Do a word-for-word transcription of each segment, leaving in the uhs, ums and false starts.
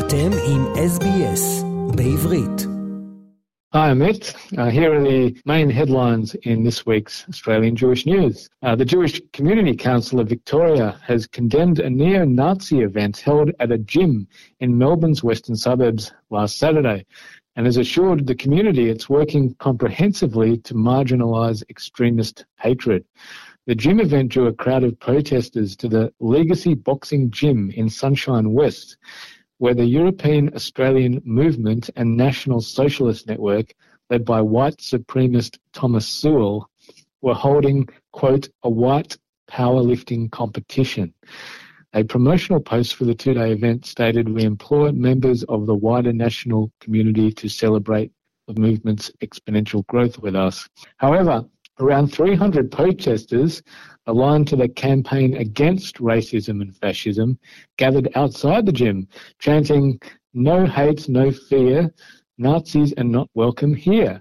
אתם עם אס בי אס בעברית. Hi, Amit. Uh, here are the main headlines in this week's Australian Jewish News. Uh, the Jewish Community Council of Victoria has condemned a neo-Nazi event held at a gym in Melbourne's western suburbs last Saturday and has assured the community it's working comprehensively to marginalise extremist hatred. The gym event drew a crowd of protesters to the Legacy Boxing Gym in Sunshine West, where the European Australian Movement and National Socialist Network, led by white supremacist Thomas Sewell, were holding, quote, a white powerlifting competition. A promotional post for the two-day event stated, "We implore members of the wider national community to celebrate the movement's exponential growth with us." However, around three hundred protesters aligned to the campaign against racism and fascism gathered outside the gym, chanting, "No hate, no fear, Nazis are not welcome here."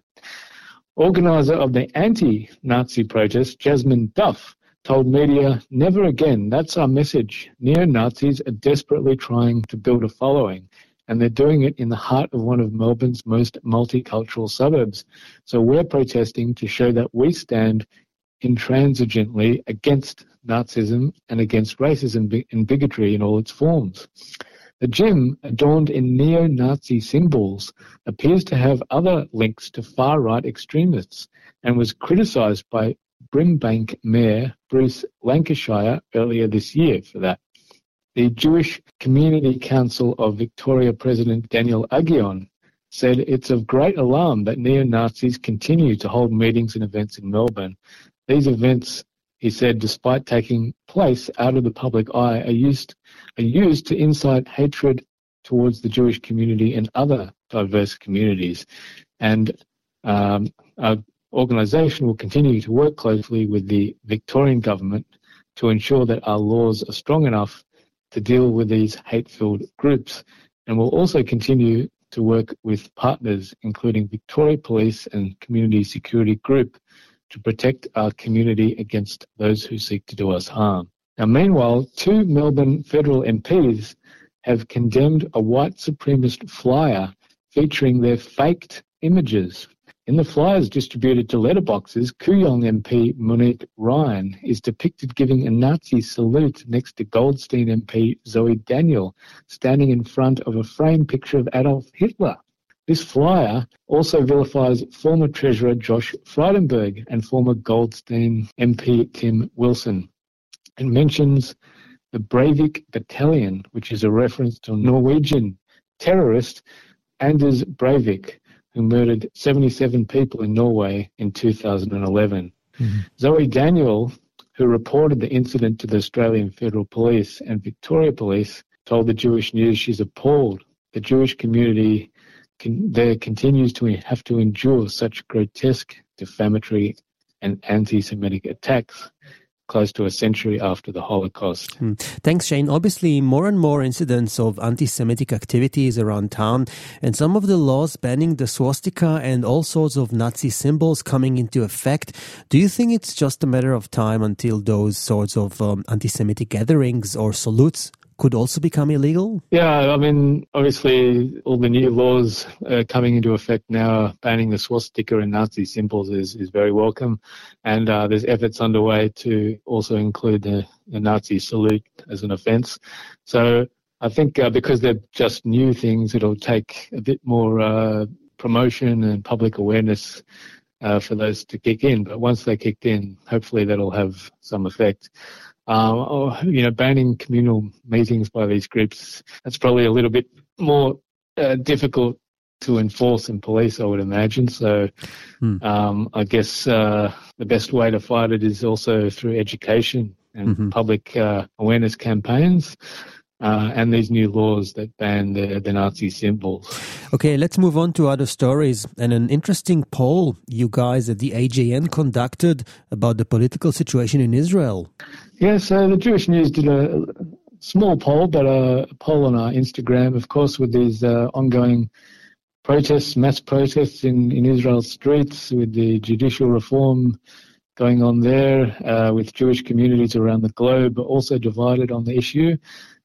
Organiser of the anti-Nazi protest, Jasmine Duff, told media, "Never again, that's our message. Neo-Nazis are desperately trying to build a following, and they're doing it in the heart of one of Melbourne's most multicultural suburbs. So we're protesting to show that we stand intransigently against Nazism and against racism and bigotry in all its forms." The gym, adorned in neo-Nazi symbols, appears to have other links to far-right extremists and was criticised by Brimbank Mayor Bruce Lancashire earlier this year for that. The Jewish Community Council of Victoria President Daniel Aguillon said it's of great alarm that neo-Nazis continue to hold meetings and events in Melbourne. These events, he said, despite taking place out of the public eye, are used, are used to incite hatred towards the Jewish community and other diverse communities. And um, our organisation will continue to work closely with the Victorian government to ensure that our laws are strong enough to deal with these hate-filled groups, and will also continue to work with partners, including Victoria Police and Community Security Group, to protect our community against those who seek to do us harm. Now, meanwhile, two Melbourne federal M Ps have condemned a white supremacist flyer featuring their faked images. In the flyers distributed to letterboxes, Kooyong M P Monique Ryan is depicted giving a Nazi salute next to Goldstein M P Zoe Daniel, standing in front of a framed picture of Adolf Hitler. This flyer also vilifies former Treasurer Josh Frydenberg and former Goldstein M P Tim Wilson, and mentions the Breivik Battalion, which is a reference to Norwegian terrorist Anders Breivik, who murdered seventy-seven people in Norway in two thousand eleven. Mm-hmm. Zoe Daniel, who reported the incident to the Australian Federal Police and Victoria Police, told the Jewish News she's appalled. The Jewish community can, there continues to have to endure such grotesque, defamatory and anti-Semitic attacks close to a century after the Holocaust. Hmm. Thanks, Shane. Obviously, more and more incidents of anti-Semitic activities around town, and some of the laws banning the swastika and all sorts of Nazi symbols coming into effect. Do you think it's just a matter of time until those sorts of um, anti-Semitic gatherings or salutes could also become illegal? Yeah, I mean, obviously, all the new laws uh, coming into effect now, banning the swastika and Nazi symbols is, is very welcome. And uh, there's efforts underway to also include the, the Nazi salute as an offence. So I think uh, because they're just new things, it'll take a bit more uh, promotion and public awareness uh, for those to kick in. But once they kicked in, hopefully that'll have some effect. Um, or, you know, banning communal meetings by these groups, that's probably a little bit more uh, difficult to enforce and police, I would imagine. So hmm. um, I guess uh, the best way to fight it is also through education and mm-hmm. public uh, awareness campaigns. Uh, and these new laws that ban the, the Nazi symbols. Okay, let's move on to other stories. And an interesting poll you guys at the A J N conducted about the political situation in Israel. Yeah, so the Jewish News did a small poll, but a poll on our Instagram, of course, with these uh, ongoing protests, mass protests in, in Israel's streets, with the judicial reform going on there, uh, with Jewish communities around the globe also divided on the issue.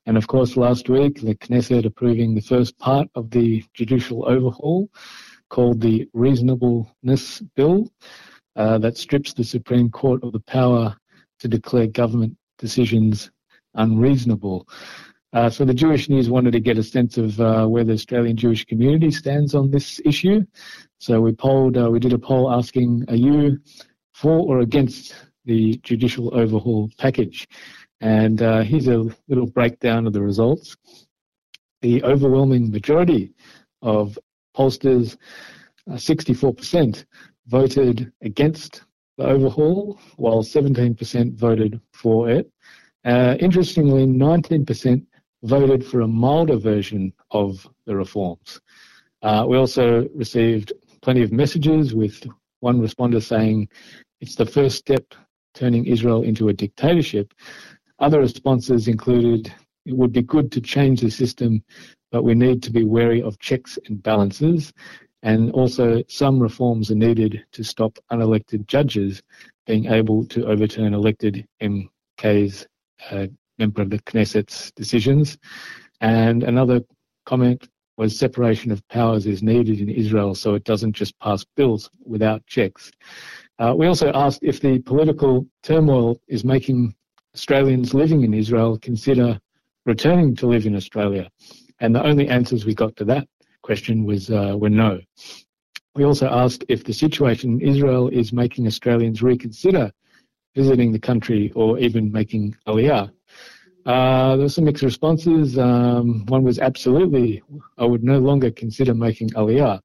And of course, last week, the Knesset approving the first part of the judicial overhaul called the Reasonableness Bill uh, that strips the Supreme Court of the power to declare government decisions unreasonable. Uh, so the Jewish News wanted to get a sense of uh, where the Australian Jewish community stands on this issue. So we polled, uh, we did a poll asking, are you for or against the judicial overhaul package? And uh, here's a little breakdown of the results. The overwhelming majority of pollsters, uh, sixty-four percent, voted against the overhaul, while seventeen percent voted for it. Uh, interestingly, nineteen percent voted for a milder version of the reforms. Uh, we also received plenty of messages, with one responder saying it's the first step turning Israel into a dictatorship. Other responses included, it would be good to change the system, but we need to be wary of checks and balances. And also, some reforms are needed to stop unelected judges being able to overturn elected M Ks, uh, member of the Knesset's decisions. And another comment was separation of powers is needed in Israel so it doesn't just pass bills without checks. Uh, we also asked if the political turmoil is making Australians living in Israel consider returning to live in Australia. And the only answers we got to that question was uh, were no. We also asked if the situation in Israel is making Australians reconsider visiting the country or even making Aliyah. Uh, there were some mixed responses. Um, one was absolutely, I would no longer consider making Aliyah.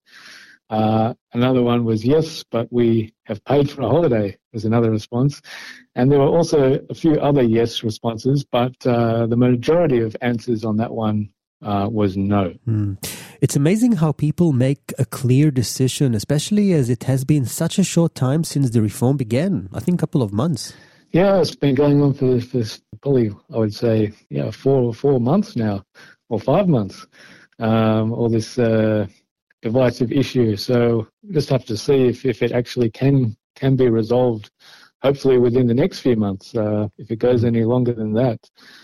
Uh, another one was yes, but we have paid for a holiday, was another response. And there were also a few other yes responses, but uh, the majority of answers on that one uh, was no. Mm. It's amazing how people make a clear decision, especially as it has been such a short time since the reform began, I think a couple of months. Yeah, it's been going on for, for probably, I would say, yeah, four four months now, or five months, um, all this uh, divisive issue. So we just have to see if, if it actually can can be resolved, hopefully within the next few months. Uh, if it goes any longer than that,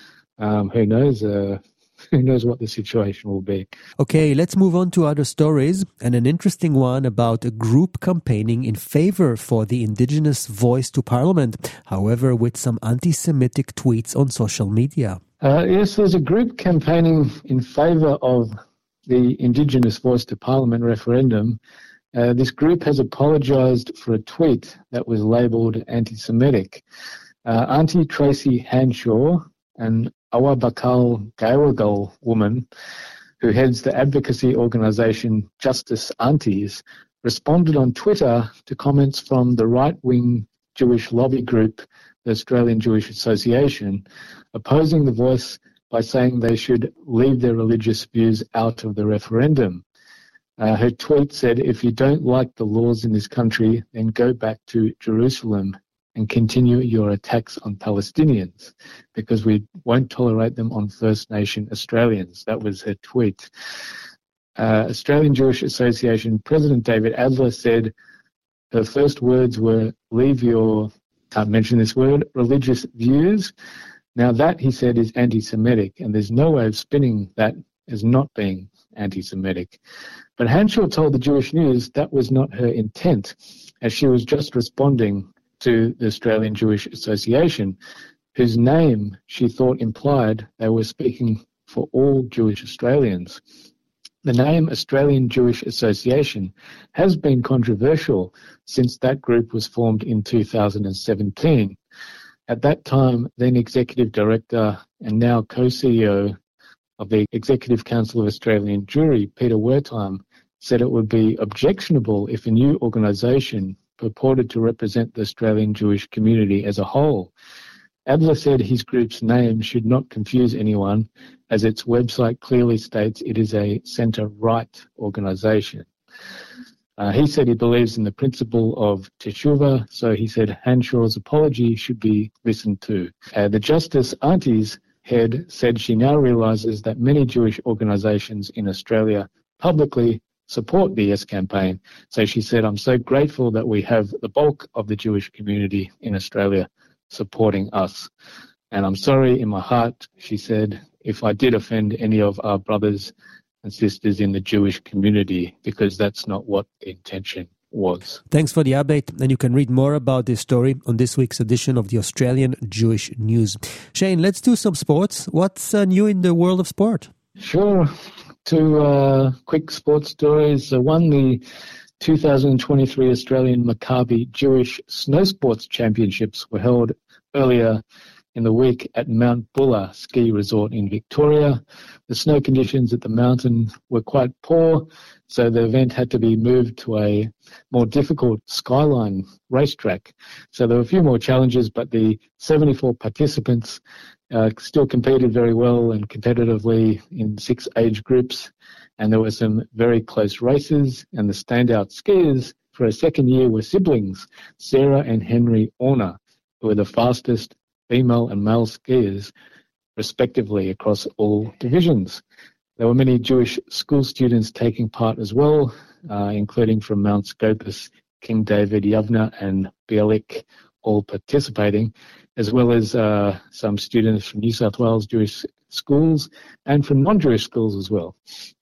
um, who knows? Uh, Who knows what the situation will be. Okay, let's move on to other stories, and an interesting one about a group campaigning in favor for the Indigenous voice to Parliament, however, with some anti-Semitic tweets on social media. Uh, yes, there's a group campaigning in favor of the Indigenous voice to Parliament referendum. Uh, this group has apologized for a tweet that was labeled anti-Semitic. Uh, Auntie Tracy Hanshaw, an Awabakal Gaiwagal woman who heads the advocacy organisation Justice Aunties, responded on Twitter to comments from the right-wing Jewish lobby group, the Australian Jewish Association, opposing the voice by saying they should leave their religious views out of the referendum. Uh, her tweet said, if you don't like the laws in this country, then go back to Jerusalem and continue your attacks on Palestinians, because we won't tolerate them on First Nation Australians. That was her tweet. Uh, Australian Jewish Association President David Adler said her first words were, leave your, can't mention this word, religious views. Now that, he said, is anti-Semitic, and there's no way of spinning that as not being anti-Semitic. But Hanshaw told the Jewish News that was not her intent, as she was just responding to the Australian Jewish Association, whose name she thought implied they were speaking for all Jewish Australians. The name Australian Jewish Association has been controversial since that group was formed in two thousand seventeen. At that time, then Executive Director and now co-C E O of the Executive Council of Australian Jewry, Peter Wertheim, said it would be objectionable if a new organisation purported to represent the Australian Jewish community as a whole. Adler said his group's name should not confuse anyone, as its website clearly states it is a centre-right organisation. Uh, he said he believes in the principle of teshuva, so he said Hanshaw's apology should be listened to. Uh, the Justice Aunties head said she now realises that many Jewish organisations in Australia publicly support the Yes campaign. So she said, I'm so grateful that we have the bulk of the Jewish community in Australia supporting us. And I'm sorry in my heart, she said, if I did offend any of our brothers and sisters in the Jewish community, because that's not what the intention was. Thanks for the update, and you can read more about this story on this week's edition of the Australian Jewish News. Shane, let's do some sports. What's uh, new in the world of sport? Sure. Two uh, quick sports stories. Uh, one, the two thousand twenty-three Australian Maccabi Jewish Snow Sports Championships were held earlier in the week at Mount Buller Ski Resort in Victoria. The snow conditions at the mountain were quite poor, so the event had to be moved to a more difficult Skyline racetrack. So there were a few more challenges, but the seventy-four participants uh, still competed very well and competitively in six age groups. And there were some very close races, and the standout skiers for a second year were siblings, Sarah and Henry Orner, who were the fastest female and male skiers, respectively, across all divisions. There were many Jewish school students taking part as well, uh, including from Mount Scopus, King David, Yavna and Bialik, all participating, as well as uh, some students from New South Wales Jewish schools and from non-Jewish schools as well.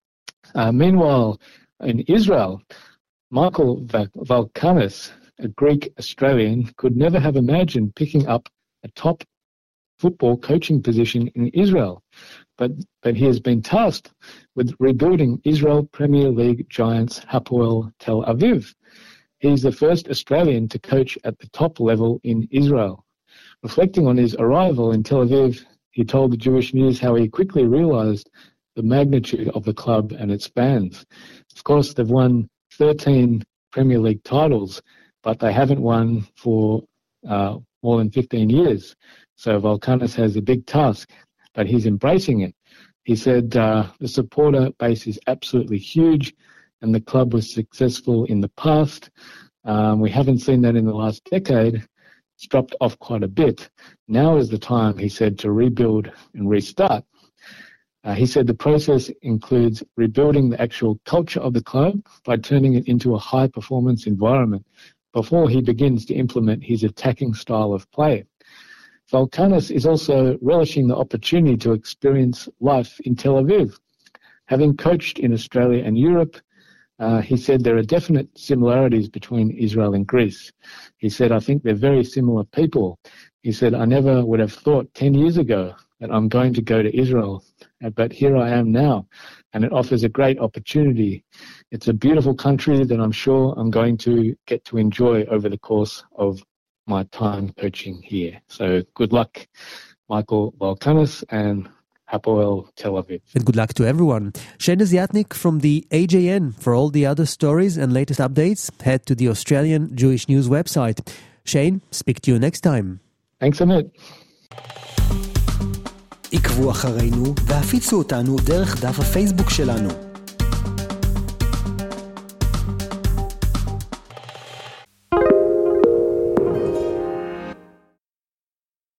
Uh, meanwhile, in Israel, Michael Valkanis, a Greek Australian, could never have imagined picking up a top football coaching position in Israel, but but he has been tasked with rebuilding Israel Premier League giants Hapoel Tel Aviv. He's the first Australian to coach at the top level in Israel. Reflecting on his arrival in Tel Aviv, he told the Jewish News how he quickly realized the magnitude of the club and its fans. Of course, they've won thirteen Premier League titles, but they haven't won for uh, more than fifteen years. So Valkanis has a big task, but he's embracing it. He said uh, the supporter base is absolutely huge, and the club was successful in the past. Um, we haven't seen that in the last decade. It's dropped off quite a bit. Now is the time, he said, to rebuild and restart. Uh, he said the process includes rebuilding the actual culture of the club by turning it into a high-performance environment before he begins to implement his attacking style of play. Valkanis is also relishing the opportunity to experience life in Tel Aviv. Having coached in Australia and Europe, uh, he said there are definite similarities between Israel and Greece. He said, I think they're very similar people. He said, I never would have thought ten years ago that I'm going to go to Israel, but here I am now, and it offers a great opportunity. It's a beautiful country that I'm sure I'm going to get to enjoy over the course of my time coaching here. So good luck, Michael Valkanis and Hapoel Tel Aviv. And good luck to everyone. Shane Desiatnik from the A J N. For all the other stories and latest updates, head to the Australian Jewish News website. Shane, speak to you next time. Thanks, Amit. עקבו אחרינו והפיצו אותנו דרך דף הפייסבוק שלנו.